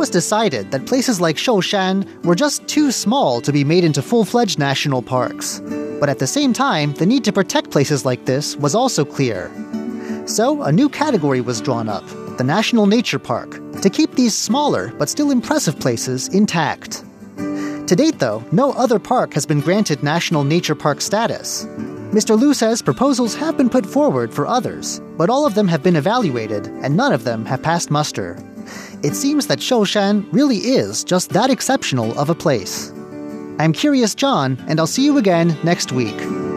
was decided that places like Shoushan were just too small to be made into full-fledged national parks. But at the same time, the need to protect places like this was also clear. So, a new category was drawn up, the National Nature Park, to keep these smaller but still impressive places intact. To date, though, no other park has been granted National Nature Park status. Mr. Liu says proposals have been put forward for others, but all of them have been evaluated and none of them have passed muster. It seems that Shoushan really is just that exceptional of a place. I'm Curious John, and I'll see you again next week.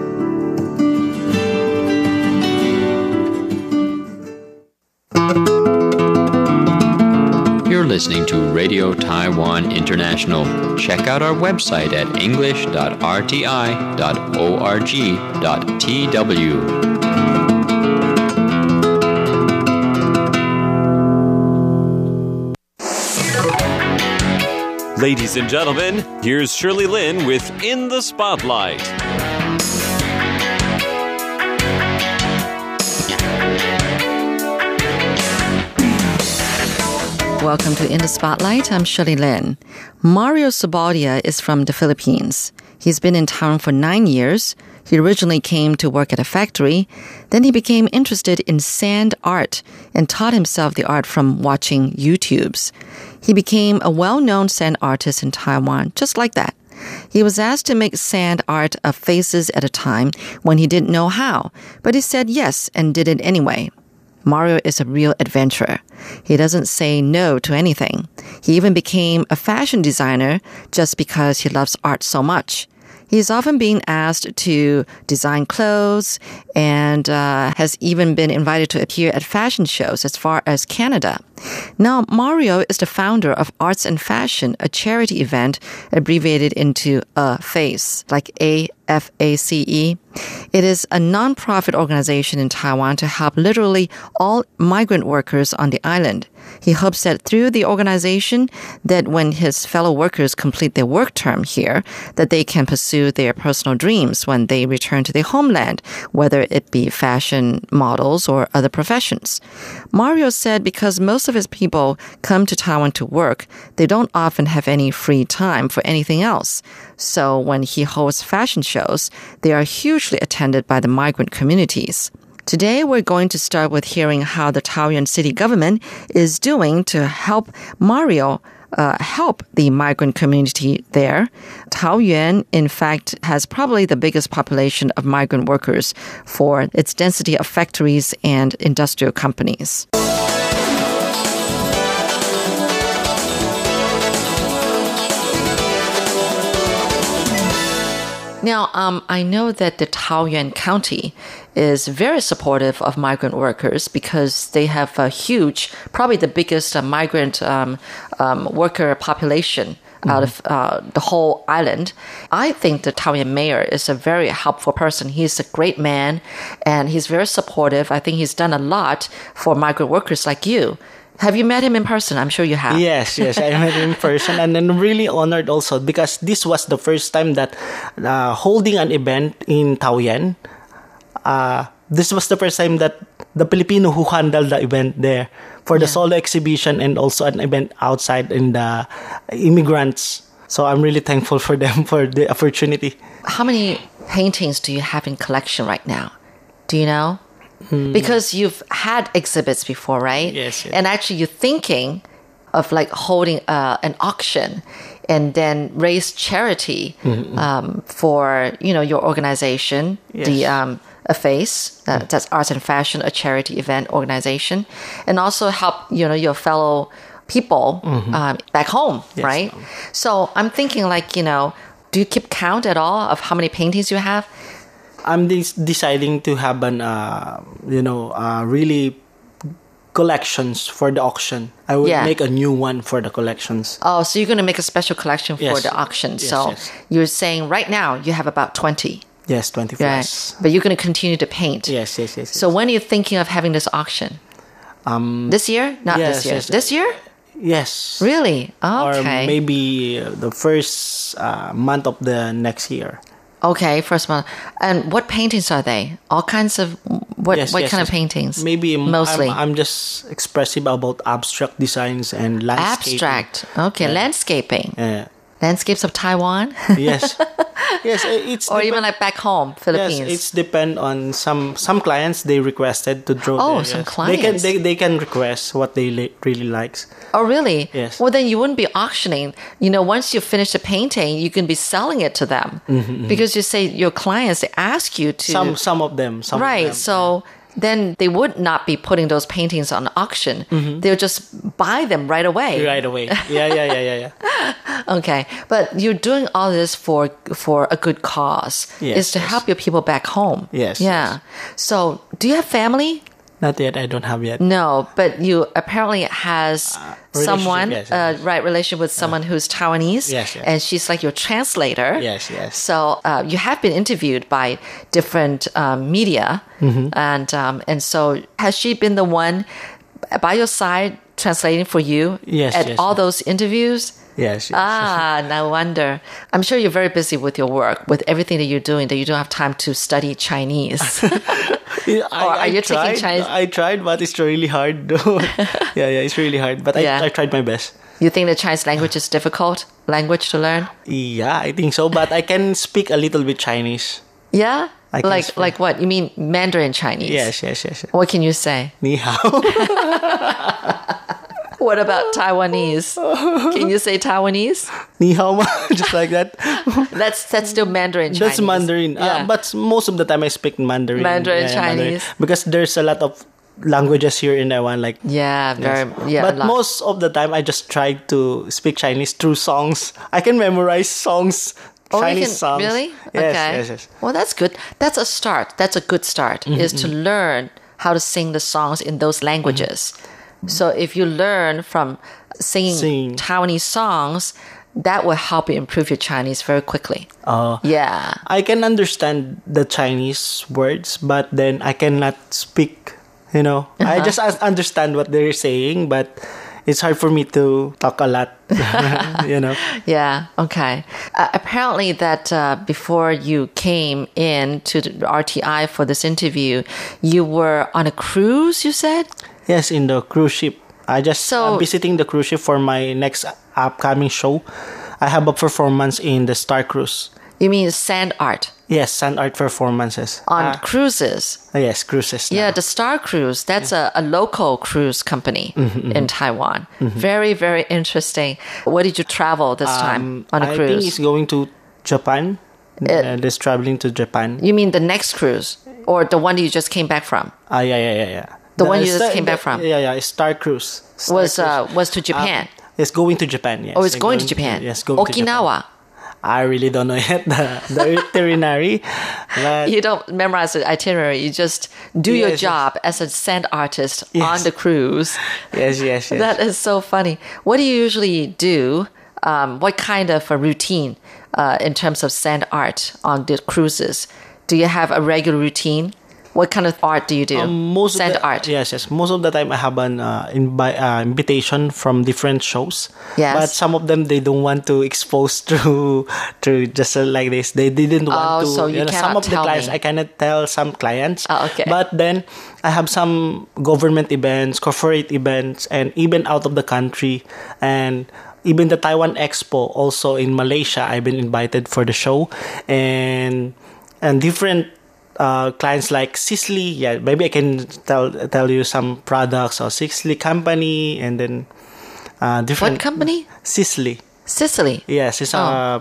You're listening to Radio Taiwan International. Check out our website at english.rti.org.tw. Ladies and gentlemen, here's Shirley Lin with In the Spotlight. Welcome to In the Spotlight. I'm Shirley Lin. Mario Sabaldia is from the Philippines. He's been in Taiwan for 9 years. He originally came to work at a factory. Then he became interested in sand art and taught himself the art from watching YouTubes. He became a well-known sand artist in Taiwan, just like that. He was asked to make sand art of faces at a time when he didn't know how, but he said yes and did it anyway. Mario is a real adventurer. He doesn't say no to anything. He even became a fashion designer just because he loves art so much. He's often being asked to design clothes and has even been invited to appear at fashion shows as far as Canada. Now, Mario is the founder of Arts and Fashion, a charity event abbreviated into AFACE, like AFACE. It is a non-profit organization in Taiwan to help literally all migrant workers on the island. He hopes that through the organization, that when his fellow workers complete their work term here, that they can pursue their personal dreams when they return to their homeland, whether it be fashion models or other professions. Mario said because most of his people come to Taiwan to work, they don't often have any free time for anything else. So when he holds fashion shows, they are hugely attended by the migrant communities. Today, we're going to start with hearing how the Taoyuan city government is doing to help Mario help the migrant community there. Taoyuan, in fact, has probably the biggest population of migrant workers for its density of factories and industrial companies. Now, I know that the Taoyuan County is very supportive of migrant workers because they have a huge, probably the biggest migrant worker population out of the whole island. I think the Taoyuan mayor is a very helpful person. He's a great man and he's very supportive. I think he's done a lot for migrant workers like you. Have you met him in person? I'm sure you have. Yes, I met him in person, and I'm really honored also because this was the first time that holding an event in Taoyuan. This was the first time that the Filipino who handled the event there for the solo exhibition and also an event outside in the immigrants. So I'm really thankful for them for the opportunity. How many paintings do you have in collection right now? Do you know? Because you've had exhibits before, right? Yes. And actually you're thinking of like holding an auction and then raise charity for, your organization, the AFACE, that's Arts and Fashion, a charity event organization, and also help, your fellow people back home, right? So I'm thinking do you keep count at all of how many paintings you have? I'm deciding to have an, really collections for the auction. I would make a new one for the collections. Oh, so you're going to make a special collection for the auction. Yes. You're saying right now you have about 20. Yes, 20 plus. But you're going to continue to paint. Yes. So when are you thinking of having this auction? This year? Not this year. Yes. This year? Yes. Really? Okay. Or maybe the first month of the next year. Okay, first month. And what paintings are they? All kinds of What Yes, what yes, kind yes. of paintings? Maybe mostly I'm just expressive about abstract designs and landscape. abstract. Okay, landscaping. Yeah. Landscapes of Taiwan, Yes. Yes, it's or even like back home, Philippines. Yes, it's depend on some clients. They requested to draw. Oh, there, some yes. clients. They can request what they really likes. Oh, really? Yes. Well, then you wouldn't be auctioning. Once you finish the painting, you can be selling it to them because you say your clients they ask you to. Some of them. Some Right. Of them. So then they would not be putting those paintings on auction. They'll just buy them right away. Right away. Yeah. Okay. But you're doing all this for a good cause. Yes, Is to yes. help your people back home. Yes, Yeah. So do you have family? Not yet. I don't have yet. No, but you apparently has someone, relationship, yes. right, relation with someone who's Taiwanese. Yes, yes. And she's like your translator. Yes. So you have been interviewed by different media, and so has she been the one by your side translating for you Yes, at yes. all those interviews? Yes. No wonder. I'm sure you're very busy with your work, with everything that you're doing, that you don't have time to study Chinese. are you taking tried, Chinese? I tried, but it's really hard though. yeah, it's really hard. But Yeah. I tried my best. You think the Chinese language is difficult language to learn? Yeah, I think so. But I can speak a little bit Chinese. Yeah? I can Like speak. like what? You mean Mandarin Chinese? Yes. What can you say? Ni hao. What about Taiwanese? Can you say Taiwanese? Ni hao ma. Just like that. That's still Mandarin Chinese. That's Mandarin. Yeah. But most of the time I speak Mandarin. Mandarin Chinese. Because there's a lot of languages here in Taiwan. Like yeah, very yeah. But a lot. most of the time I just try to speak Chinese through songs. I can memorize songs. Oh, you Chinese can- songs. Really? Yes, Okay. yes. Well, that's good. That's a start. That's a good start. Is to learn how to sing the songs in those languages. So if you learn from singing Sing. Taiwanese songs, that will help you improve your Chinese very quickly. Yeah. I can understand the Chinese words, but then I cannot speak. I just understand what they're saying, but it's hard for me to talk a lot. Yeah. Okay. Apparently, that before you came in to the RTI for this interview, you were on a cruise. You said. Yes, in the cruise ship. I just So- visiting the cruise ship for my next upcoming show. I have a performance in the Star Cruise. You mean sand art Yes, sand art performances. on cruises? Yes, cruises. now. Yeah, the Star Cruise, that's a local cruise company in Taiwan. Very, very interesting. Where did you travel this time on a I think cruise? it's going to Japan. Just traveling to Japan. You mean the next cruise or the one that you just came back from? Yeah. The one you just came back from? Yeah. Star Cruise. Star Was Cruise. to Japan? It's going to Japan. Yes. Oh, it's going to Japan. Yes, going to Japan. Okinawa. I really don't know yet the itinerary. But You don't memorize the itinerary. You just do your Yes, yes. job as a sand artist Yes. on the cruise. yes. That is so funny. What do you usually do? What kind of a routine in terms of sand art on the cruises? Do you have a regular routine? What kind of art do you do? most Sand of the, art. Yes. Most of the time, I have an invitation from different shows. Yes. But some of them they don't want to expose to just like this. They didn't want to. so you some cannot of the tell clients me. I cannot tell some clients. Oh, okay. But then I have some government events, corporate events, and even out of the country, and even the Taiwan Expo also in Malaysia. I've been invited for the show, and different. Clients like Sisley, yeah, maybe I can tell you some products or Sisley company, and then different. What company? Sisley. Sicily. Yes, it's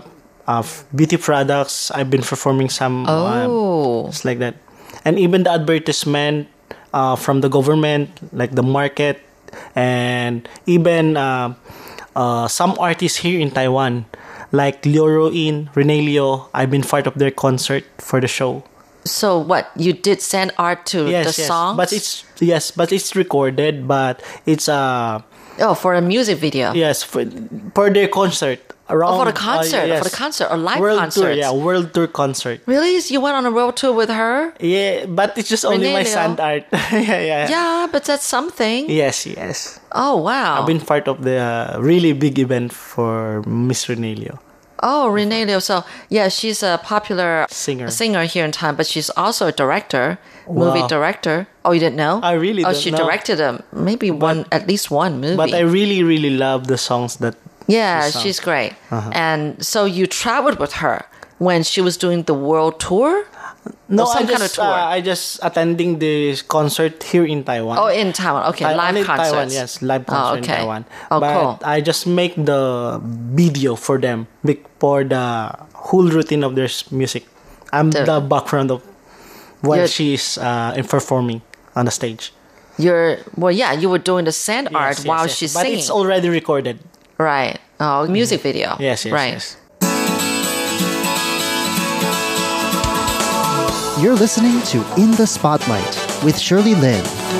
beauty products. I've been performing some. Oh. It's like that, and even the advertisement from the government, like the market, and even some artists here in Taiwan, like Liu Ruin, Rene Leo. I've been part of their concert for the show. So what? You did sand art to the songs? But it's recorded. But it's for a music video. yes for their concert around. for the concert, yes. for the concert or live world concerts. tour, yeah, world tour concert. Really? You went on a world tour with her? Yeah, but it's just only Rene my Leo. sand art. yeah. Yeah, but that's something. Yes. Oh wow. I've been part of the really big event for Miss Rene Leo. Oh, Renee Liu. So, yeah, she's a popular Singer. here in Taiwan, but she's also a director, movie Wow. director. Oh, you didn't know? I really Oh, don't she know. directed at least one movie. But I really, really love the songs that. Yeah, she sang. she's great. And so you traveled with her when she was doing the world tour? No, Or some I kind of just tour? I just attending the concert here in Taiwan. Oh, in Taiwan. Okay, live only concerts. Taiwan, yes, live concert in okay. Taiwan. Oh, but cool. I just make the video for them for the whole routine of their music. I'm the background of when she's performing on the stage. You were doing the sand art while she's but singing. it's already recorded. Right. Oh, music video. Yes, right. yes. You're listening to In the Spotlight with Shirley Lin.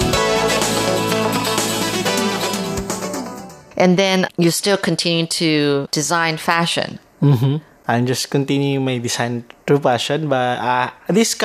And then you still continue to design fashion. I'm just continuing my design through fashion. But this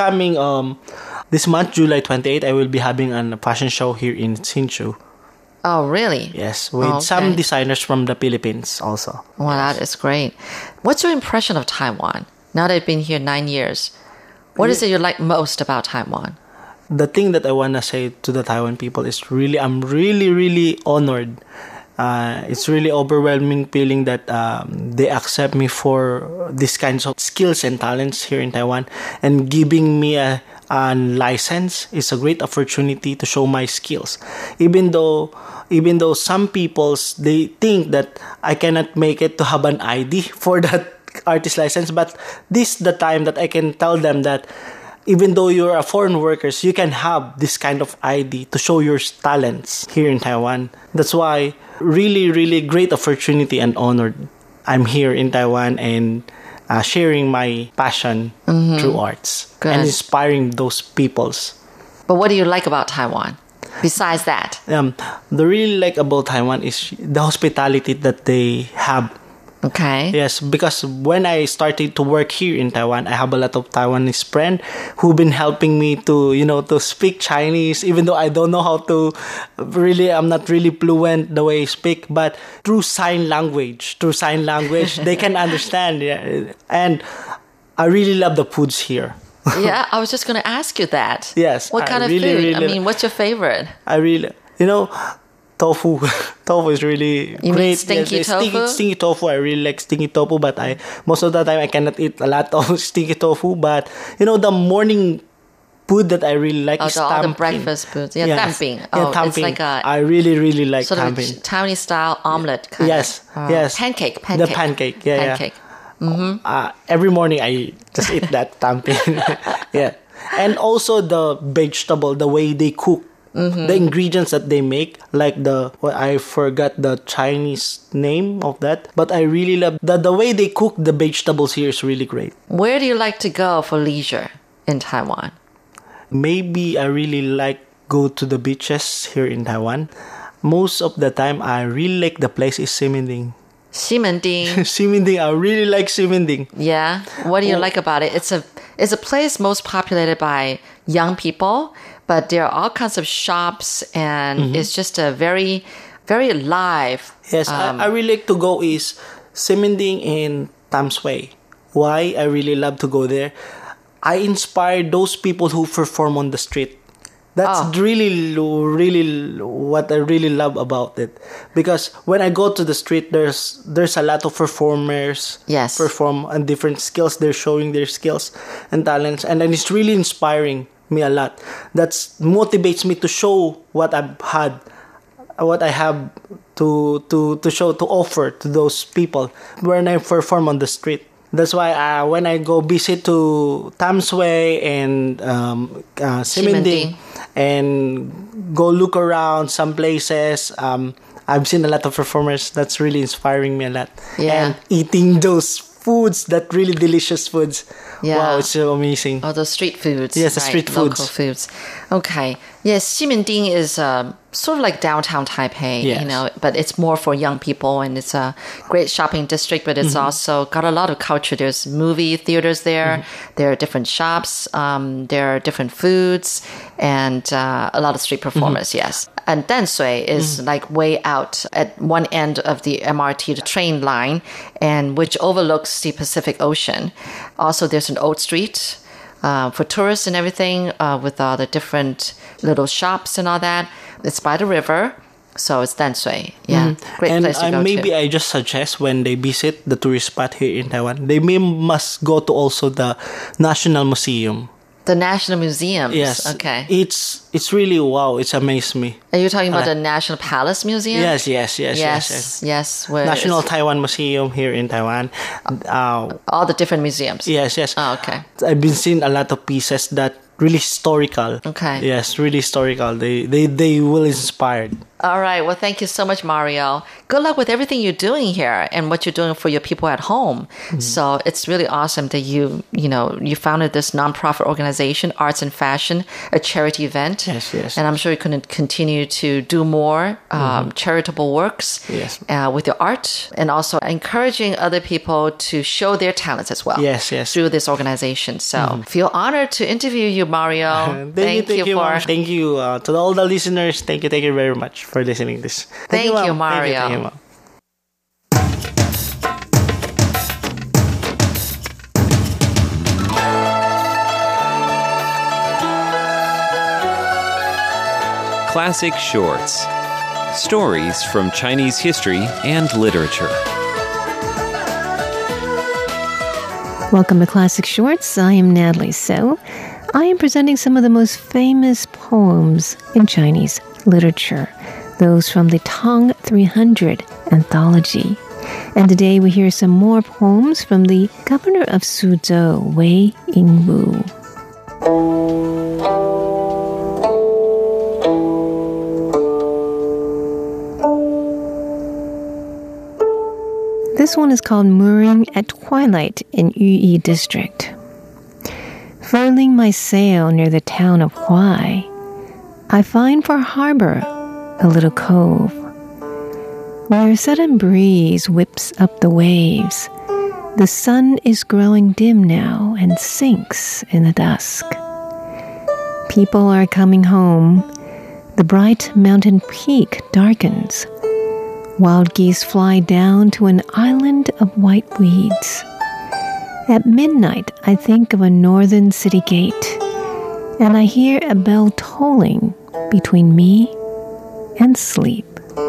month, July 28th, I will be having a fashion show here in Hsinchu. Oh, really? Yes, with some designers from the Philippines also. Well, that is great. What's your impression of Taiwan now that you've been here 9 years? What is it you like most about Taiwan? The thing that I want to say to the Taiwan people is I'm really honored. It's really overwhelming feeling that they accept me for these kinds of skills and talents here in Taiwan, and giving me a license is a great opportunity to show my skills. Even though some peoples they think that I cannot make it to have an ID for that artist license, but this is the time that I can tell them that even though you're a foreign workers, you can have this kind of ID to show your talents here in Taiwan. That's why really great opportunity and honored I'm here in Taiwan and sharing my passion through arts and inspiring those peoples. But what do you like about Taiwan besides that? The really like about Taiwan is the hospitality that they have. Okay. Yes, because when I started to work here in Taiwan, I have a lot of Taiwanese friends who've been helping me to speak Chinese, even though I don't know how to I'm not really fluent the way I speak, but through sign language, they can understand. Yeah. And I really love the foods here. Yeah, I was just going to ask you that. Yes. What kind of food? What's your favorite? I really, tofu. Tofu is really you great. Mean stinky tofu? Stinky tofu. I really like stinky tofu, but most of the time I cannot eat a lot of stinky tofu. But the morning food that I really like is all tamping. the breakfast foods. Yeah, yes. tamping. Tamping. It's like I really like sort tamping. of Taiwanese style omelette kind yes, of. Yes. Pancake. The pancake. Yeah, pancake. Yeah. Every morning I just eat that tamping. Yeah. And also the vegetable, the way they cook. The ingredients that they make, like I forgot the Chinese name of that, but I really love the way they cook the vegetables here is really great. Where do you like to go for leisure in Taiwan? Maybe I really like go to the beaches here in Taiwan. Most of the time, I really like the place is Ximending. Ximending. Ximending, I really like Ximending. Yeah. What do you like about it? It's a place most populated by young people, but there are all kinds of shops, and it's just a very, very live. Yes, I really like to go is Ximending in Tamsui. Why I really love to go there? I inspire those people who perform on the street. That's really what I really love about it. Because when I go to the street, there's a lot of performers perform on different skills. They're showing their skills and talents. And then it's really inspiring me a lot. That motivates me to show what I've had, what I have to show, to offer to those people when I perform on the street. That's why when I go visit to Tamsui and Ximending and go look around some places, I've seen a lot of performers. That's really inspiring me a lot. Yeah. And eating those foods, that really delicious foods. Yeah. Wow, it's so amazing. Oh, the street foods. Yes, the street foods. Local foods. Okay. Yes, Ximending is sort of like downtown Taipei, Yes. but it's more for young people, and it's a great shopping district, but it's also got a lot of culture. There's movie theaters there. There are different shops. There are different foods and a lot of street performers, yes. And Danshui is like way out at one end of the MRT, the train line, and which overlooks the Pacific Ocean. Also, there's an old street for tourists and everything with all the different little shops and all that. It's by the river, so it's Danshui. Yeah, great And place to go maybe to. I just suggest when they visit the tourist spot here in Taiwan, they must go to also the National Museum. The National Museums. Yes. Okay. It's really wow. It's amazed me. Are you talking about the National Palace Museum? Yes. Yes. Where National it's Taiwan Museum here in Taiwan. all the different museums. Yes. Oh, okay. I've been seeing a lot of pieces that really historical. Okay. Yes, really historical. They will inspired. All right. Well, thank you so much, Mario. Good luck with everything you're doing here and what you're doing for your people at home. So it's really awesome that you founded this nonprofit organization, Arts and Fashion, a charity event. Yes. And I'm sure you're going to continue to do more charitable works Yes. with your art, and also encouraging other people to show their talents as well. Yes. Through this organization. So feel honored to interview you, Mario. Thank you, Ma'am. Thank you to all the listeners. Thank you very much for listening to this. Thank you, Ma'am. Mario. Thank you, Ma'am. Classic Shorts. Stories from Chinese history and literature. Welcome to Classic Shorts. I am Natalie So. I am presenting some of the most famous poems in Chinese literature, those from the Tang 300 anthology. And today we hear some more poems from the governor of Suzhou, Wei Yingwu. This one is called Mooring at Twilight in Yuyi District. Furling my sail near the town of Huai, I find for harbor a little cove, where a sudden breeze whips up the waves. The sun is growing dim now and sinks in the dusk. People are coming home. The bright mountain peak darkens. Wild geese fly down to an island of white weeds. At midnight, I think of a northern city gate, and I hear a bell tolling between me and sleep.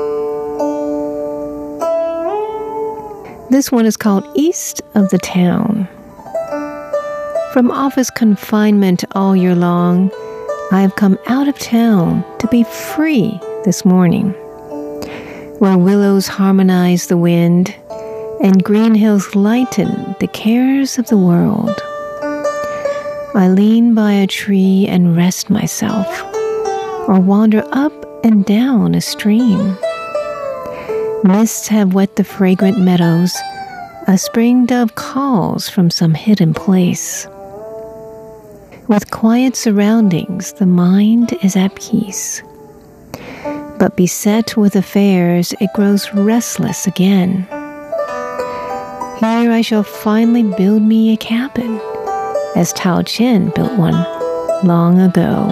This one is called East of the Town. From office confinement all year long, I have come out of town to be free this morning, where willows harmonize the wind and green hills lighten the cares of the world. I lean by a tree and rest myself, or wander up and down a stream. Mists have wet the fragrant meadows. A spring dove calls from some hidden place. With quiet surroundings, the mind is at peace. But beset with affairs, it grows restless again. Here I shall finally build me a cabin, as Tao Qian built one long ago.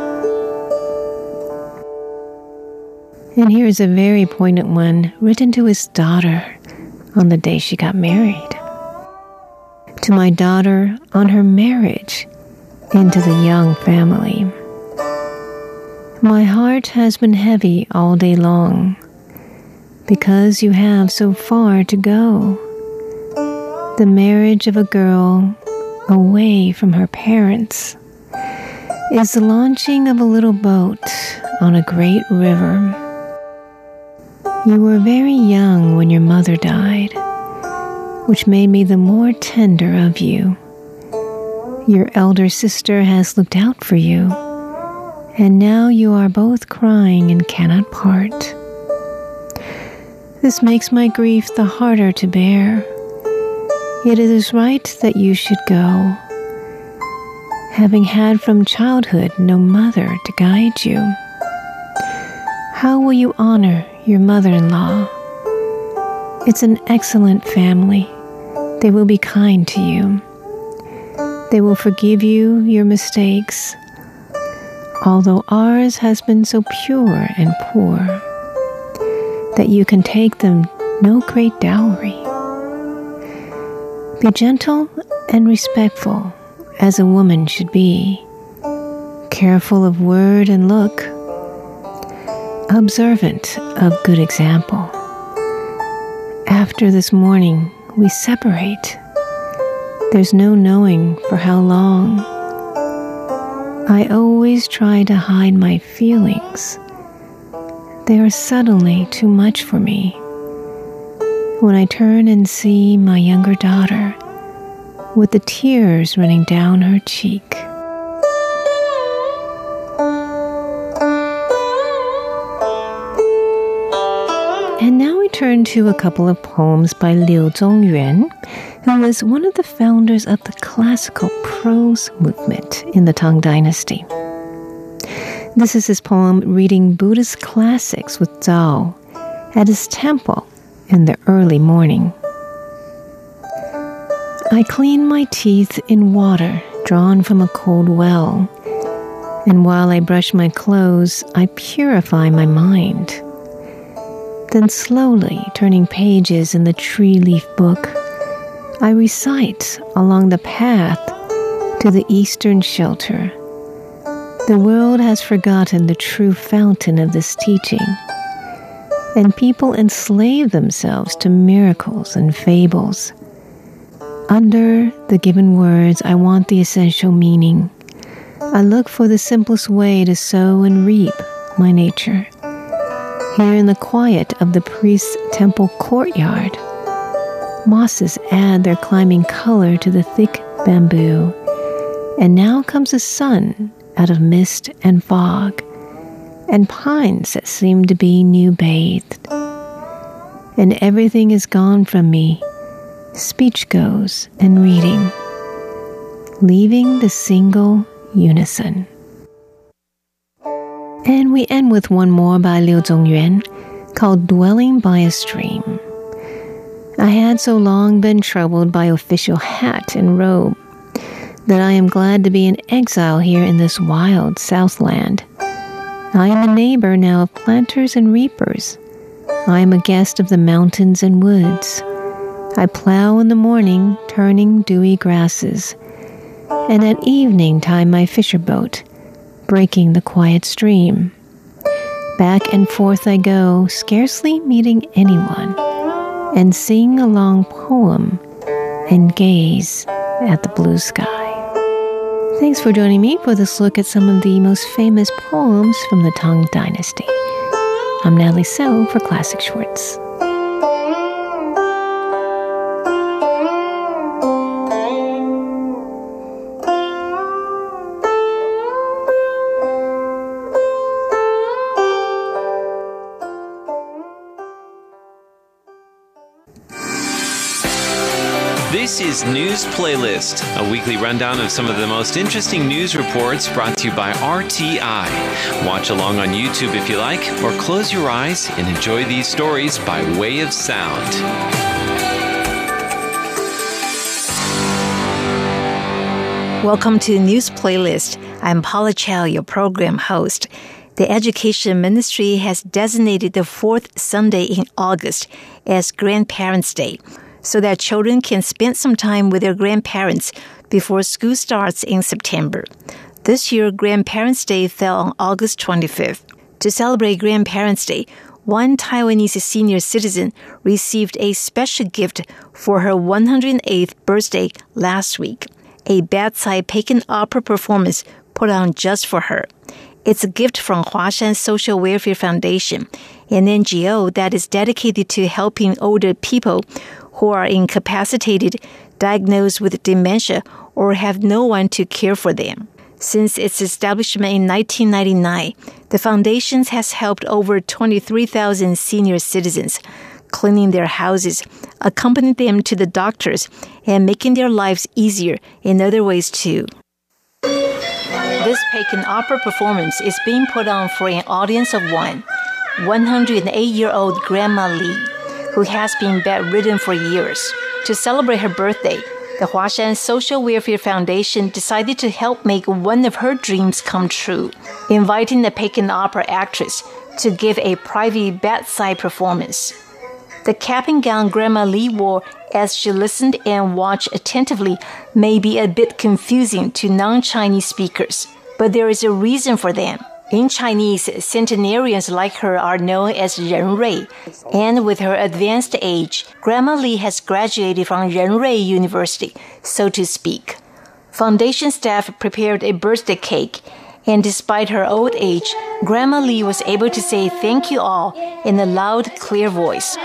And here is a very poignant one written to his daughter on the day she got married. To my daughter on her marriage into the young family. My heart has been heavy all day long, because you have so far to go. The marriage of a girl away from her parents is the launching of a little boat on a great river. You were very young when your mother died, which made me the more tender of you. Your elder sister has looked out for you, and now you are both crying and cannot part. This makes my grief the harder to bear. Yet it is right that you should go, having had from childhood no mother to guide you. How will you honor your mother-in-law? It's an excellent family. They will be kind to you. They will forgive you your mistakes, although ours has been so pure and poor that you can take them no great dowry. Be gentle and respectful as a woman should be, careful of word and look, observant of good example. After this morning, we separate. There's no knowing for how long. I always try to hide my feelings. They are suddenly too much for me. When I turn and see my younger daughter with the tears running down her cheek. And now we turn to a couple of poems by Liu Zongyuan, who was one of the founders of the classical prose movement in the Tang Dynasty. This is his poem reading Buddhist classics with Zhao at his temple in the early morning. I clean my teeth in water drawn from a cold well, and while I brush my clothes, I purify my mind. Then slowly turning pages in the tree-leaf book, I recite along the path to the eastern shelter. The world has forgotten the true fountain of this teaching, and people enslave themselves to miracles and fables. Under the given words, I want the essential meaning. I look for the simplest way to sow and reap my nature. Here in the quiet of the priest's temple courtyard, mosses add their climbing color to the thick bamboo, and now comes the sun out of mist and fog, and pines that seem to be new-bathed. And everything is gone from me. Speech goes and reading, leaving the single unison. And we end with one more by Liu Zongyuan called Dwelling by a Stream. I had so long been troubled by official hat and robe that I am glad to be in exile here in this wild Southland. I am a neighbor now of planters and reapers. I am a guest of the mountains and woods. I plow in the morning, turning dewy grasses, and at evening time my fisher boat, breaking the quiet stream. Back and forth I go, scarcely meeting anyone, and sing a long poem and gaze at the blue sky. Thanks for joining me for this look at some of the most famous poems from the Tang Dynasty. I'm Natalie So for Classic Shorts. This is News Playlist, a weekly rundown of some of the most interesting news reports brought to you by RTI. Watch along on YouTube if you like, or close your eyes and enjoy these stories by way of sound. Welcome to News Playlist. I'm Paula Chow, your program host. The Education Ministry has designated the fourth Sunday in August as Grandparents' Day, so that children can spend some time with their grandparents before school starts in September. This year, Grandparents' Day fell on August 25th. To celebrate Grandparents' Day, one Taiwanese senior citizen received a special gift for her 108th birthday last week, a bedside Peking opera performance put on just for her. It's a gift from Huashan Social Welfare Foundation, an NGO that is dedicated to helping older people who are incapacitated, diagnosed with dementia, or have no one to care for them. Since its establishment in 1999, the foundation has helped over 23,000 senior citizens, cleaning their houses, accompanying them to the doctors, and making their lives easier in other ways too. This Peking opera performance is being put on for an audience of one. 108-year-old Grandma Li, who has been bedridden for years. To celebrate her birthday, the Huashan Social Welfare Foundation decided to help make one of her dreams come true, inviting the Peking opera actress to give a private bedside performance. The cap and gown Grandma Li wore as she listened and watched attentively may be a bit confusing to non-Chinese speakers, but there is a reason for them. In Chinese, centenarians like her are known as Ren Rui, and with her advanced age, Grandma Li has graduated from Ren Rui University, so to speak. Foundation staff prepared a birthday cake, and despite her old age, Grandma Li was able to say thank you all in a loud, clear voice.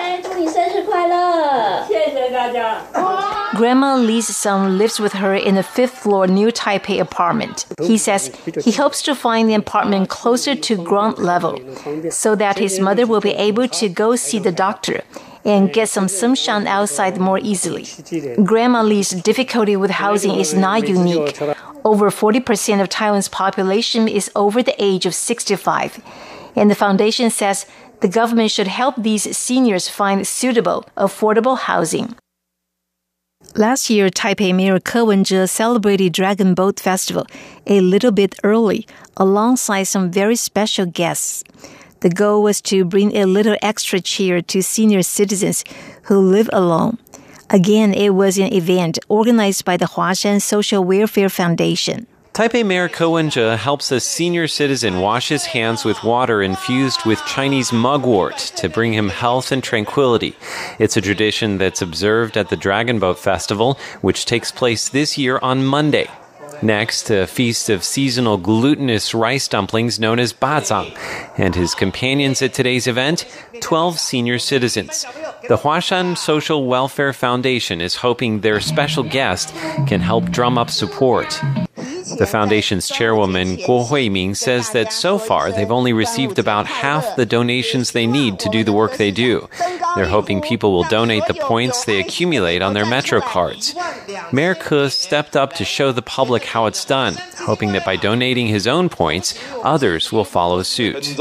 Grandma Li's son lives with her in a fifth-floor New Taipei apartment. He says he hopes to find the apartment closer to ground level so that his mother will be able to go see the doctor and get some sunshine outside more easily. Grandma Li's difficulty with housing is not unique. Over 40% of Taiwan's population is over the age of 65, and the foundation says the government should help these seniors find suitable, affordable housing. Last year, Taipei Mayor Ke Wen-je celebrated Dragon Boat Festival a little bit early, alongside some very special guests. The goal was to bring a little extra cheer to senior citizens who live alone. Again, it was an event organized by the Huashan Social Welfare Foundation. Taipei Mayor Ke Wen-je helps a senior citizen wash his hands with water infused with Chinese mugwort to bring him health and tranquility. It's a tradition that's observed at the Dragon Boat Festival, which takes place this year on Monday. Next, a feast of seasonal glutinous rice dumplings known as bazang, and his companions at today's event, 12 senior citizens. The Huashan Social Welfare Foundation is hoping their special guest can help drum up support. The foundation's chairwoman, Guo Huiming, says that so far they've only received about half the donations they need to do the work they do. They're hoping people will donate the points they accumulate on their Metro cards. Mayor Ke stepped up to show the public how it's done, hoping that by donating his own points, others will follow suit.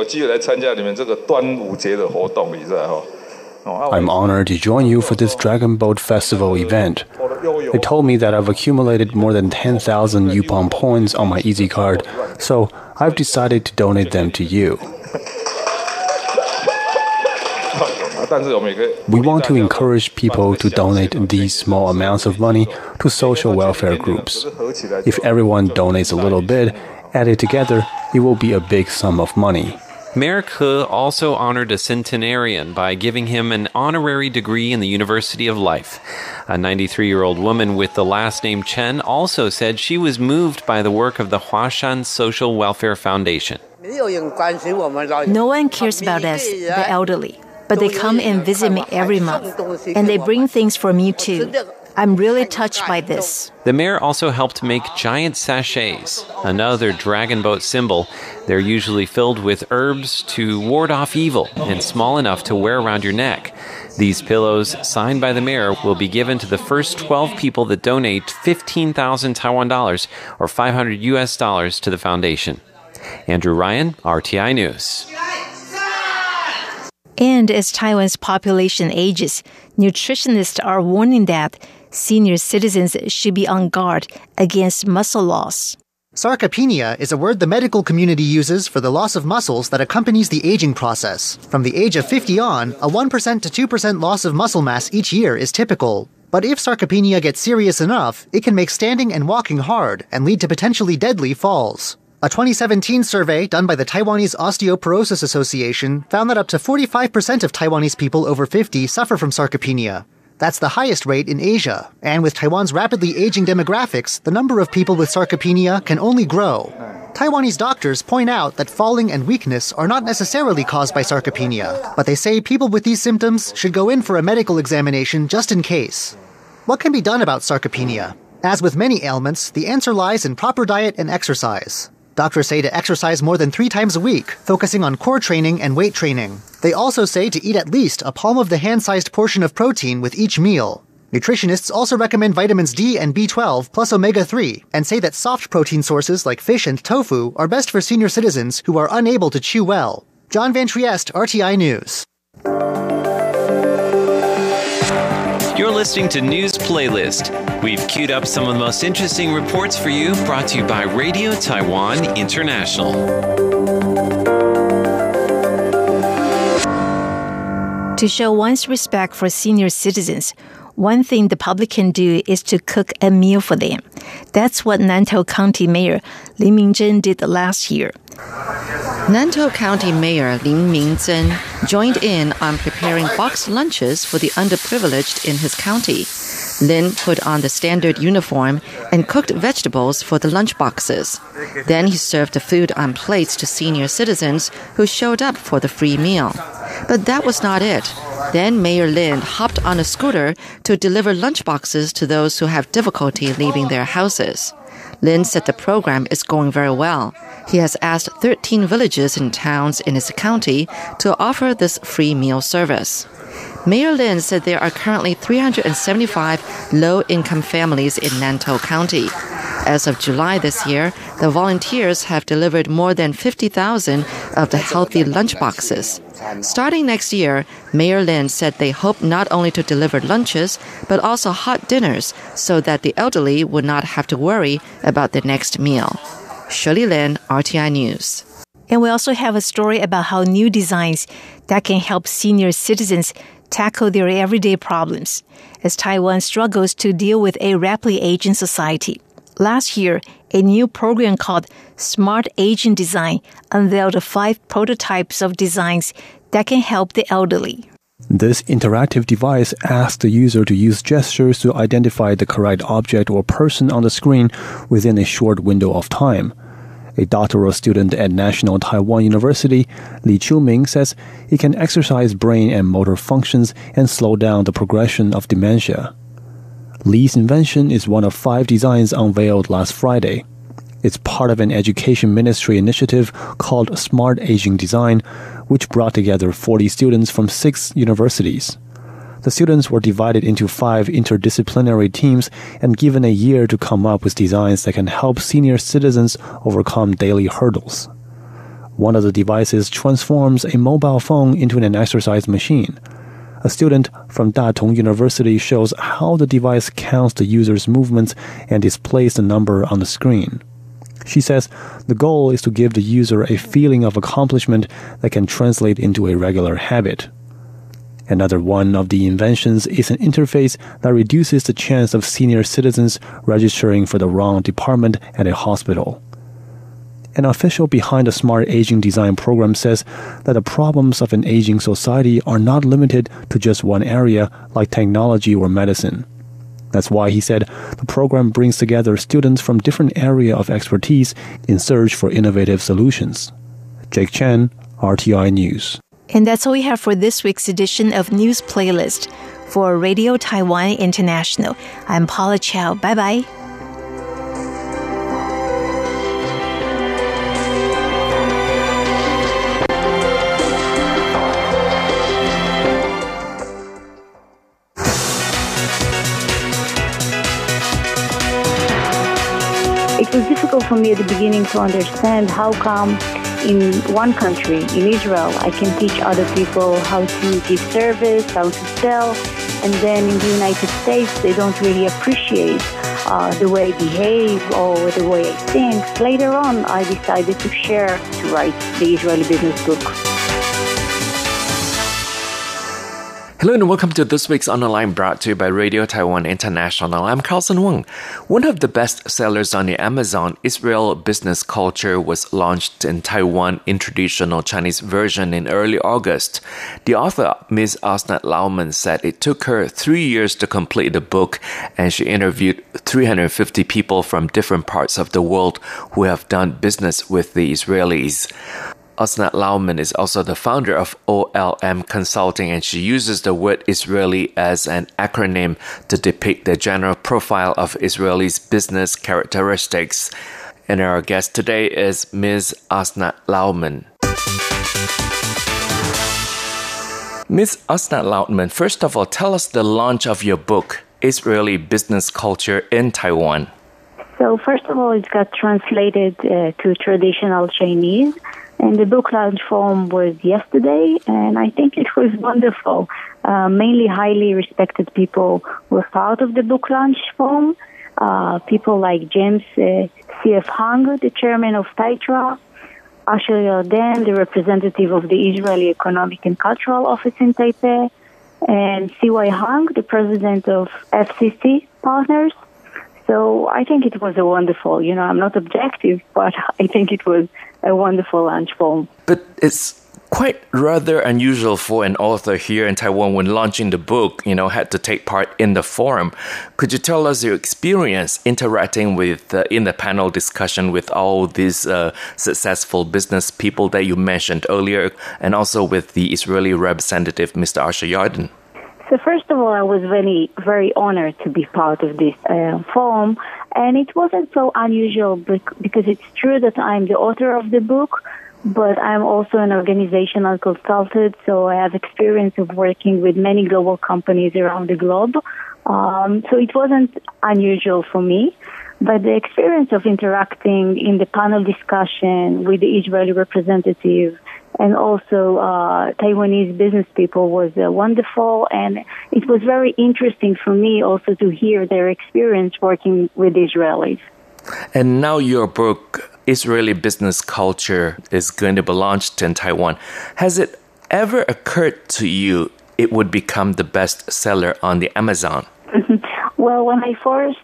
I'm honored to join you for this Dragon Boat Festival event. They told me that I've accumulated more than 10,000 Yupon points on my Easy Card, so I've decided to donate them to you. We want to encourage people to donate these small amounts of money to social welfare groups. If everyone donates a little bit, added together, it will be a big sum of money. Mayor Ke also honored a centenarian by giving him an honorary degree in the University of Life. A 93-year-old woman with the last name Chen also said she was moved by the work of the Huashan Social Welfare Foundation. No one cares about us, the elderly, but they come and visit me every month, and they bring things for me too. I'm really touched by this. The mayor also helped make giant sachets, another dragon boat symbol. They're usually filled with herbs to ward off evil and small enough to wear around your neck. These pillows, signed by the mayor, will be given to the first 12 people that donate 15,000 Taiwan dollars or $500 US to the foundation. Andrew Ryan, RTI News. And as Taiwan's population ages, nutritionists are warning that senior citizens should be on guard against muscle loss. Sarcopenia is a word the medical community uses for the loss of muscles that accompanies the aging process. From the age of 50 on, a 1% to 2% loss of muscle mass each year is typical. But if sarcopenia gets serious enough, it can make standing and walking hard and lead to potentially deadly falls. A 2017 survey done by the Taiwanese Osteoporosis Association found that up to 45% of Taiwanese people over 50 suffer from sarcopenia. That's the highest rate in Asia, and with Taiwan's rapidly aging demographics, the number of people with sarcopenia can only grow. Taiwanese doctors point out that falling and weakness are not necessarily caused by sarcopenia, but they say people with these symptoms should go in for a medical examination just in case. What can be done about sarcopenia? As with many ailments, the answer lies in proper diet and exercise. Doctors say to exercise more than 3 times a week, focusing on core training and weight training. They also say to eat at least a palm-of-the-hand-sized portion of protein with each meal. Nutritionists also recommend vitamins D and B12 plus omega-3 and say that soft protein sources like fish and tofu are best for senior citizens who are unable to chew well. John Van Trieste, RTI News. You're listening to News Playlist. We've queued up some of the most interesting reports for you, brought to you by Radio Taiwan International. To show one's respect for senior citizens, one thing the public can do is to cook a meal for them. That's what Nantou County Mayor Lin Mingzhen did last year. Nantou County Mayor Lin Mingzhen joined in on preparing boxed lunches for the underprivileged in his county. Lin put on the standard uniform and cooked vegetables for the lunch boxes. Then he served the food on plates to senior citizens who showed up for the free meal. But that was not it. Then Mayor Lin hopped on a scooter to deliver lunch boxes to those who have difficulty leaving their houses. Lin said the program is going very well. He has asked 13 villages and towns in his county to offer this free meal service. Mayor Lin said there are currently 375 low-income families in Nantou County. As of July this year, the volunteers have delivered more than 50,000 of the healthy lunch boxes. Starting next year, Mayor Lin said they hope not only to deliver lunches, but also hot dinners so that the elderly would not have to worry about the next meal. Shirley Lin, RTI News. And we also have a story about how new designs that can help senior citizens tackle their everyday problems as Taiwan struggles to deal with a rapidly aging society. Last year, a new program called Smart Aging Design unveiled 5 prototypes of designs that can help the elderly. This interactive device asks the user to use gestures to identify the correct object or person on the screen within a short window of time. A doctoral student at National Taiwan University, Li Qiuming, says it can exercise brain and motor functions and slow down the progression of dementia. Li's invention is one of 5 designs unveiled last Friday. It's part of an education ministry initiative called Smart Aging Design, which brought together 40 students from 6 universities. The students were divided into 5 interdisciplinary teams and given a year to come up with designs that can help senior citizens overcome daily hurdles. One of the devices transforms a mobile phone into an exercise machine. A student from Datong University shows how the device counts the user's movements and displays the number on the screen. She says the goal is to give the user a feeling of accomplishment that can translate into a regular habit. Another one of the inventions is an interface that reduces the chance of senior citizens registering for the wrong department at a hospital. An official behind the Smart Aging Design program says that the problems of an aging society are not limited to just one area like technology or medicine. That's why he said the program brings together students from different areas of expertise in search for innovative solutions. Jake Chen, RTI News. And that's all we have for this week's edition of News Playlist. For Radio Taiwan International, I'm Paula Chow. Bye-bye. It was difficult for me at the beginning to understand how come in one country, in Israel, I can teach other people how to give service, how to sell, and then in the United States, they don't really appreciate the way I behave or the way I think. Later on, I decided to write the Israeli Business Book. Hello and welcome to this week's Online brought to you by Radio Taiwan International. I'm Carlson Wong. One of the best sellers on the Amazon, Israel Business Culture, was launched in Taiwan in traditional Chinese version in early August. The author, Ms. Asnat Lauman, said it took her 3 years to complete the book, and she interviewed 350 people from different parts of the world who have done business with the Israelis. Asnat Lauman is also the founder of OLM Consulting, and she uses the word Israeli as an acronym to depict the general profile of Israelis' business characteristics. And our guest today is Ms. Asnat Lauman. Ms. Asnat Lauman, first of all, tell us the launch of your book, Israeli Business Culture in Taiwan. So first of all, it got translated to traditional Chinese. And the book launch forum was yesterday, and I think it was wonderful. Mainly highly respected people were part of the book launch forum. People like James C.F. Hung, the chairman of TAITRA, Asher Yarden, the representative of the Israeli Economic and Cultural Office in Taipei, and C.Y. Hung, the president of FCC Partners. So I think it was a wonderful, I'm not objective, but I think it was a wonderful launch forum. But it's quite rather unusual for an author here in Taiwan when launching the book, had to take part in the forum. Could you tell us your experience interacting with in the panel discussion with all these successful business people that you mentioned earlier, and also with the Israeli representative, Mr. Asher Yarden? So first of all, I was very, very honored to be part of this forum, and it wasn't so unusual because it's true that I'm the author of the book, but I'm also an organizational consultant, so I have experience of working with many global companies around the globe. So it wasn't unusual for me, but the experience of interacting in the panel discussion with the Israeli representative and also Taiwanese business people was wonderful, and it was very interesting for me also to hear their experience working with Israelis. And now your book, Israeli Business Culture, is going to be launched in Taiwan. Has it ever occurred to you it would become the bestseller on the Amazon? Well, when I first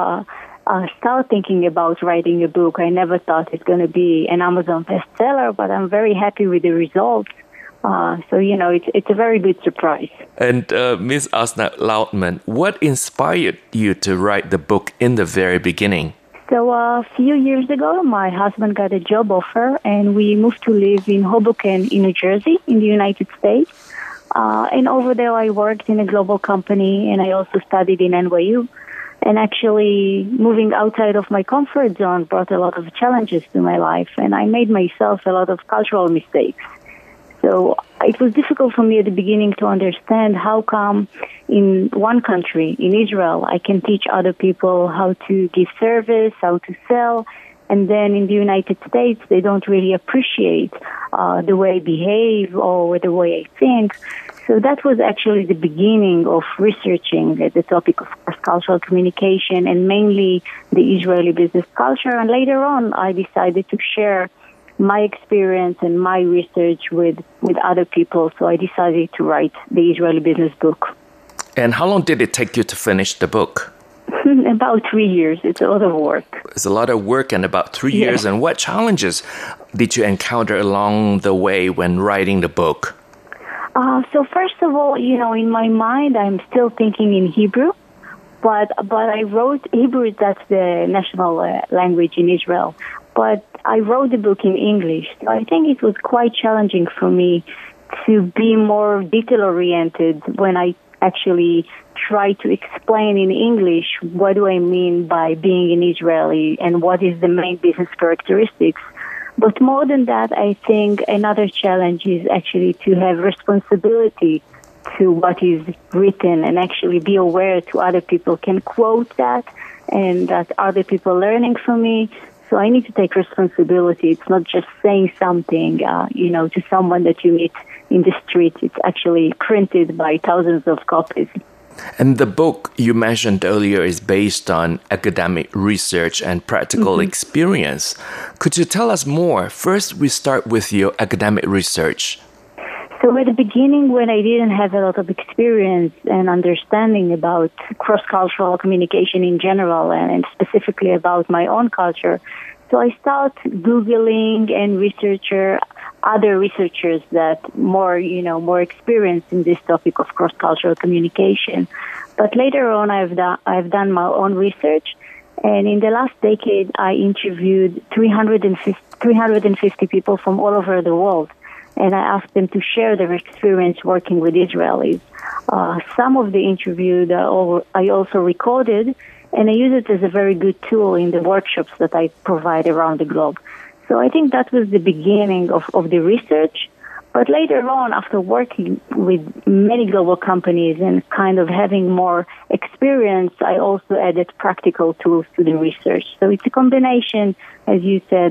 started thinking about writing a book, I never thought it's going to be an Amazon bestseller, but I'm very happy with the results. So, it's a very good surprise. And Ms. Asnat Lautman, what inspired you to write the book in the very beginning? So a few years ago, my husband got a job offer, and we moved to live in Hoboken, in New Jersey, in the United States. And over there, I worked in a global company, and I also studied in NYU. And actually, moving outside of my comfort zone brought a lot of challenges to my life, and I made myself a lot of cultural mistakes. So it was difficult for me at the beginning to understand how come in one country, in Israel, I can teach other people how to give service, how to sell, and then in the United States, they don't really appreciate the way I behave or the way I think. So that was actually the beginning of researching the topic of cross-cultural communication and mainly the Israeli business culture. And later on, I decided to share my experience and my research with other people. So I decided to write the Israeli business book. And how long did it take you to finish the book? About 3 years. It's a lot of work. It's a lot of work and about 3 years. And what challenges did you encounter along the way when writing the book? So first of all, in my mind, I'm still thinking in Hebrew, but I wrote Hebrew. That's the national language in Israel. But I wrote the book in English. So I think it was quite challenging for me to be more detail-oriented when I actually try to explain in English what do I mean by being an Israeli and what is the main business characteristics. But more than that, I think another challenge is actually to have responsibility to what is written and actually be aware to other people can quote that and that other people learning from me. So I need to take responsibility. It's not just saying something, to someone that you meet in the street. It's actually printed by thousands of copies. And the book you mentioned earlier is based on academic research and practical experience. Could you tell us more? First, we start with your academic research. So at the beginning, when I didn't have a lot of experience and understanding about cross-cultural communication in general and specifically about my own culture, so I started Googling and other researchers that more experienced in this topic of cross-cultural communication. But later on, I've done my own research, and in the last decade, I interviewed 350 people from all over the world, and I asked them to share their experience working with Israelis. Some of the interviews I also recorded, and I use it as a very good tool in the workshops that I provide around the globe. So I think that was the beginning of the research. But later on, after working with many global companies and kind of having more experience, I also added practical tools to the research. So it's a combination, as you said, of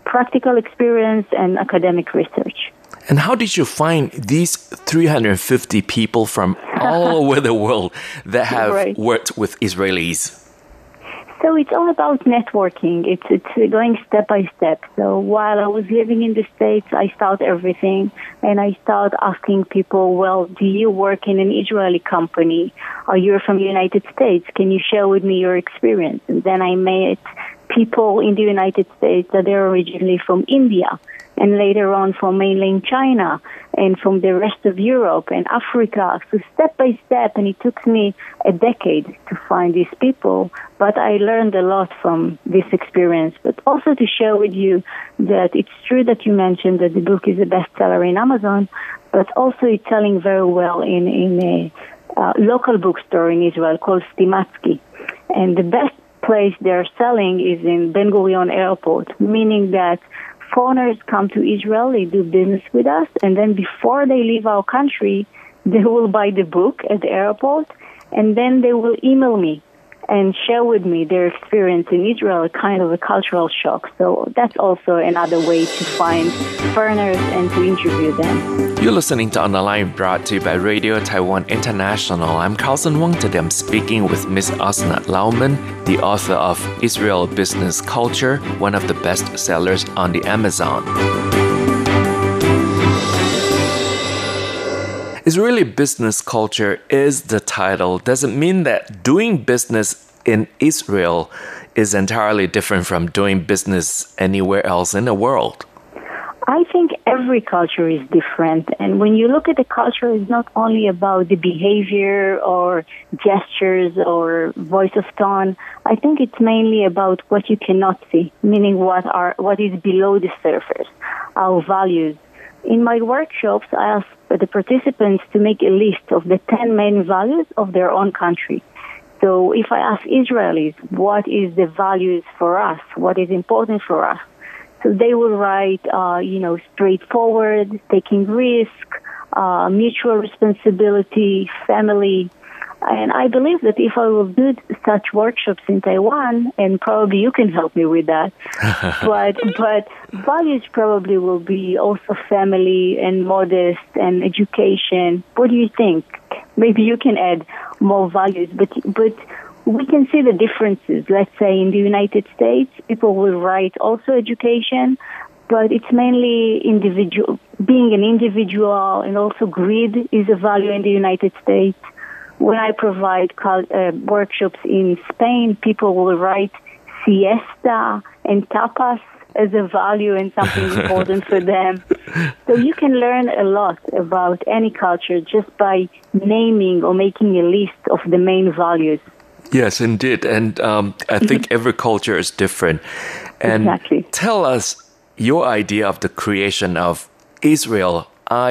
practical experience and academic research. And how did you find these 350 people from all over the world that have worked with Israelis? So it's all about networking. It's going step by step. So while I was living in the States, I started everything, and I started asking people, well, do you work in an Israeli company? Or you're from the United States? Can you share with me your experience? And then I met people in the United States that are originally from India, and later on from mainland China, and from the rest of Europe and Africa. So step by step, and it took me a decade to find these people, but I learned a lot from this experience. But also to share with you that it's true that you mentioned that the book is a bestseller in Amazon, but also it's selling very well in a local bookstore in Israel called Stimatsky. And the best place they're selling is in Ben Gurion Airport, meaning that foreigners come to Israel, they do business with us, and then before they leave our country, they will buy the book at the airport, and then they will email me and share with me their experience in Israel, kind of a cultural shock. So that's also another way to find foreigners and to interview them. You're listening to On the Line, brought to you by Radio Taiwan International. I'm Carlson Wong. Today I'm speaking with Ms. Osnat Lauman, the author of Israel Business Culture, one of the best sellers on the Amazon. Israeli business culture is the title. Does it mean that doing business in Israel is entirely different from doing business anywhere else in the world? I think every culture is different. And when you look at the culture, it's not only about the behavior or gestures or voice of tone. I think it's mainly about what you cannot see, meaning what is below the surface, our values. In my workshops, I ask the participants to make a list of the 10 main values of their own country. So if I ask Israelis, what is the values for us? What is important for us? So they will write, straightforward, taking risk, mutual responsibility, family. And I believe that if I will do such workshops in Taiwan, and probably you can help me with that, but values probably will be also family and modest and education. What do you think? Maybe you can add more values, but we can see the differences. Let's say in the United States, people will write also education, but it's mainly individual, being an individual, and also greed is a value in the United States. When I provide workshops in Spain, people will write siesta and tapas as a value and something important for them. So you can learn a lot about any culture just by naming or making a list of the main values. Yes, indeed. And I think every culture is different. And exactly. Tell us your idea of the creation of Israel,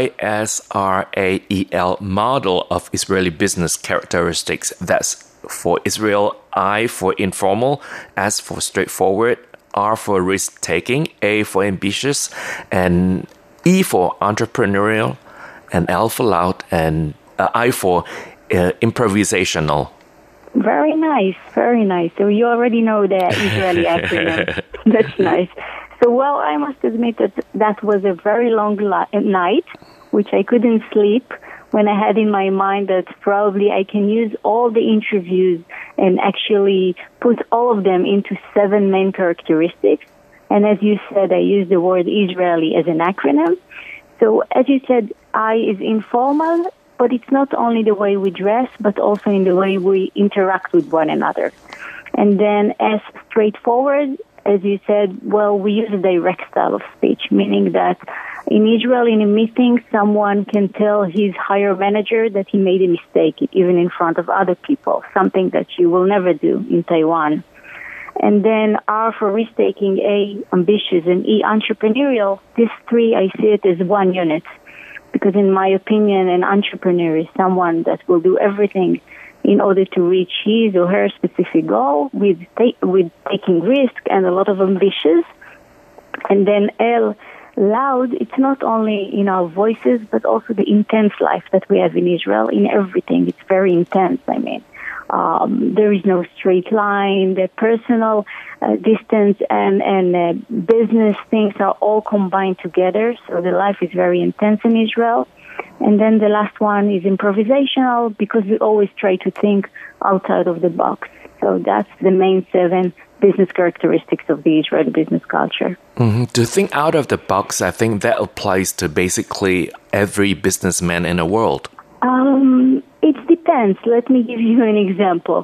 ISRAEL model of Israeli business characteristics. That's for Israel, I for informal, S for straightforward, R for risk-taking, A for ambitious, and E for entrepreneurial, and L for loud, and I for improvisational. Very nice, very nice. So you already know the Israeli acronym. That's nice. So, well, I must admit that was a very long night, which I couldn't sleep, when I had in my mind that probably I can use all the interviews and actually put all of them into 7 main characteristics. And as you said, I used the word Israeli as an acronym. So as you said, I is informal, but it's not only the way we dress, but also in the way we interact with one another. And then as straightforward, as you said, well, we use a direct style of speech, meaning that in Israel, in a meeting, someone can tell his higher manager that he made a mistake, even in front of other people, something that you will never do in Taiwan. And then R for risk-taking, A, ambitious, and E, entrepreneurial. These 3, I see it as one unit. Because in my opinion, an entrepreneur is someone that will do everything in order to reach his or her specific goal with taking risk and a lot of ambitions. And then L, loud, it's not only in our voices, but also the intense life that we have in Israel, in everything. It's very intense, There is no straight line. The personal distance and business things are all combined together. So the life is very intense in Israel. And then the last one is improvisational because we always try to think outside of the box. So that's the main 7 business characteristics of the Israeli business culture. Mm-hmm. To think out of the box, I think that applies to basically every businessman in the world. It depends. Let me give you an example.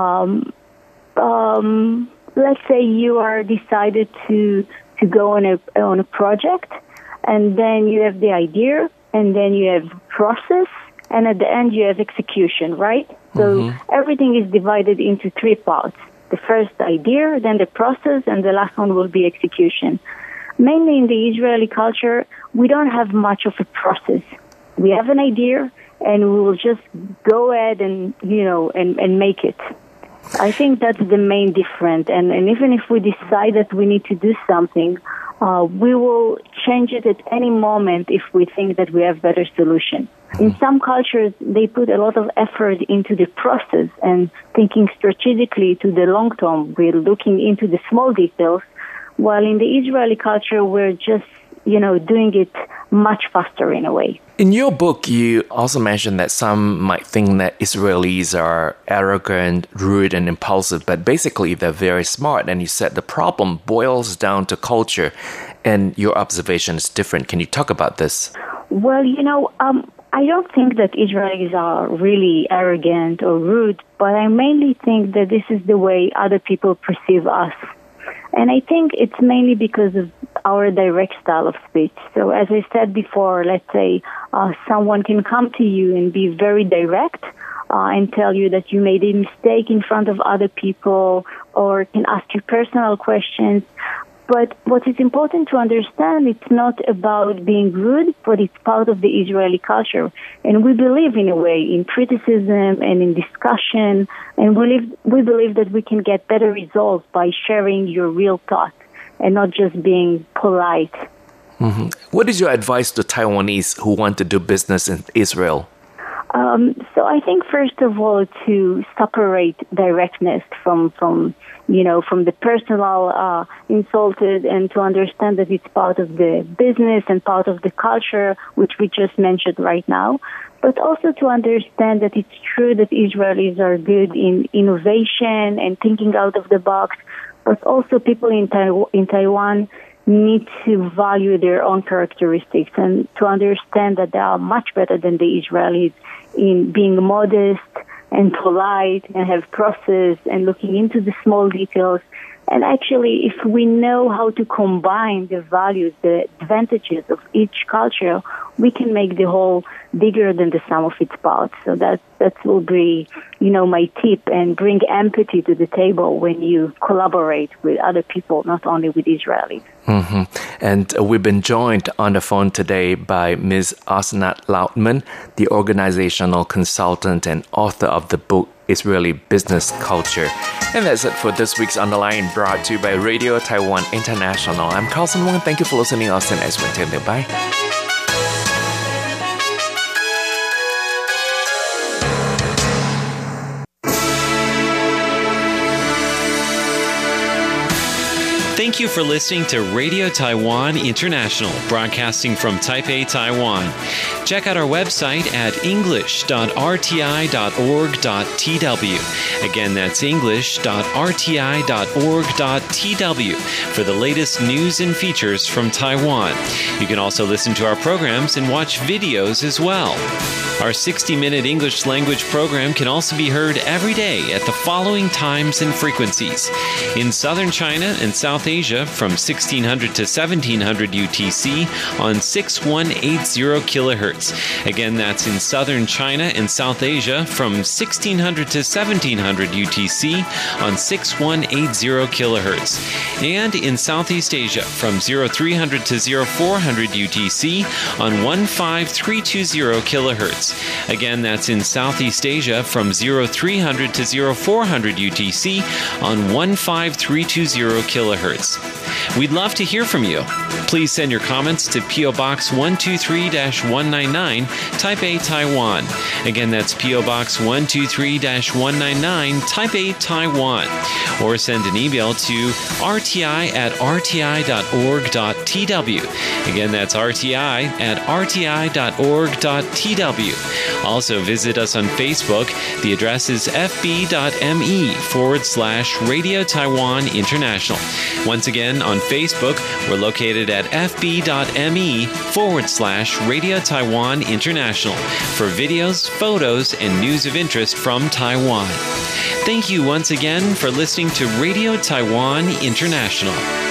Let's say you are decided to go on a project, and then you have the idea, and then you have process, and at the end you have execution, right? So everything is divided into 3 parts. The first idea, then the process, and the last one will be execution. Mainly in the Israeli culture, we don't have much of a process. We have an idea, and we will just go ahead and make it. I think that's the main difference. And even if we decide that we need to do something, we will change it at any moment if we think that we have better solution. In some cultures, they put a lot of effort into the process and thinking strategically to the long term. We're looking into the small details, while in the Israeli culture, we're just, doing it much faster in a way. In your book, you also mentioned that some might think that Israelis are arrogant, rude, and impulsive, but basically they're very smart. And you said the problem boils down to culture, and your observation is different. Can you talk about this? Well, I don't think that Israelis are really arrogant or rude, but I mainly think that this is the way other people perceive us. And I think it's mainly because of our direct style of speech. So as I said before, let's say someone can come to you and be very direct and tell you that you made a mistake in front of other people, or can ask you personal questions. But what is important to understand, it's not about being rude, but it's part of the Israeli culture. And we believe, in a way, in criticism and in discussion. And we believe that we can get better results by sharing your real thoughts and not just being polite. Mm-hmm. What is your advice to Taiwanese who want to do business in Israel? So I think, first of all, to separate directness from the personal insulted, and to understand that it's part of the business and part of the culture, which we just mentioned right now. But also to understand that it's true that Israelis are good in innovation and thinking out of the box, but also people in Taiwan need to value their own characteristics and to understand that they are much better than the Israelis in being modest and polite and have process and looking into the small details. And actually, if we know how to combine the values, the advantages of each culture, we can make the whole bigger than the sum of its parts. So that will be, my tip, and bring empathy to the table when you collaborate with other people, not only with Israelis. Mm-hmm. And we've been joined on the phone today by Ms. Osnat Lautman, the organizational consultant and author of the book Israeli Business Culture. And that's it for this week's On the Line, brought to you by Radio Taiwan International. I'm Carlson Wong. Thank you for listening. Austin Eswin. Bye. Thank you for listening to Radio Taiwan International, broadcasting from Taipei, Taiwan. Check out our website at english.rti.org.tw. Again, that's english.rti.org.tw for the latest news and features from Taiwan. You can also listen to our programs and watch videos as well. Our 60-minute English language program can also be heard every day at the following times and frequencies. In southern China and South Asia from 1600 to 1700 UTC on 6180 kilohertz. Again, that's in southern China and South Asia from 1600 to 1700 UTC on 6180 kilohertz. And in Southeast Asia from 0300 to 0400 UTC on 15320 kilohertz. Again, that's in Southeast Asia from 0300 to 0400 UTC on 15320 kilohertz. We'd love to hear from you. Please send your comments to P.O. Box 123-199, Taipei, Taiwan. Again, that's P.O. Box 123-199, Taipei, Taiwan. Or send an email to rti@rti.org.tw. Again, that's rti@rti.org.tw. Also, visit us on Facebook. The address is fb.me/Radio Taiwan International. Once again, on Facebook, we're located at fb.me/Radio Taiwan International for videos, photos, and news of interest from Taiwan. Thank you once again for listening to Radio Taiwan International.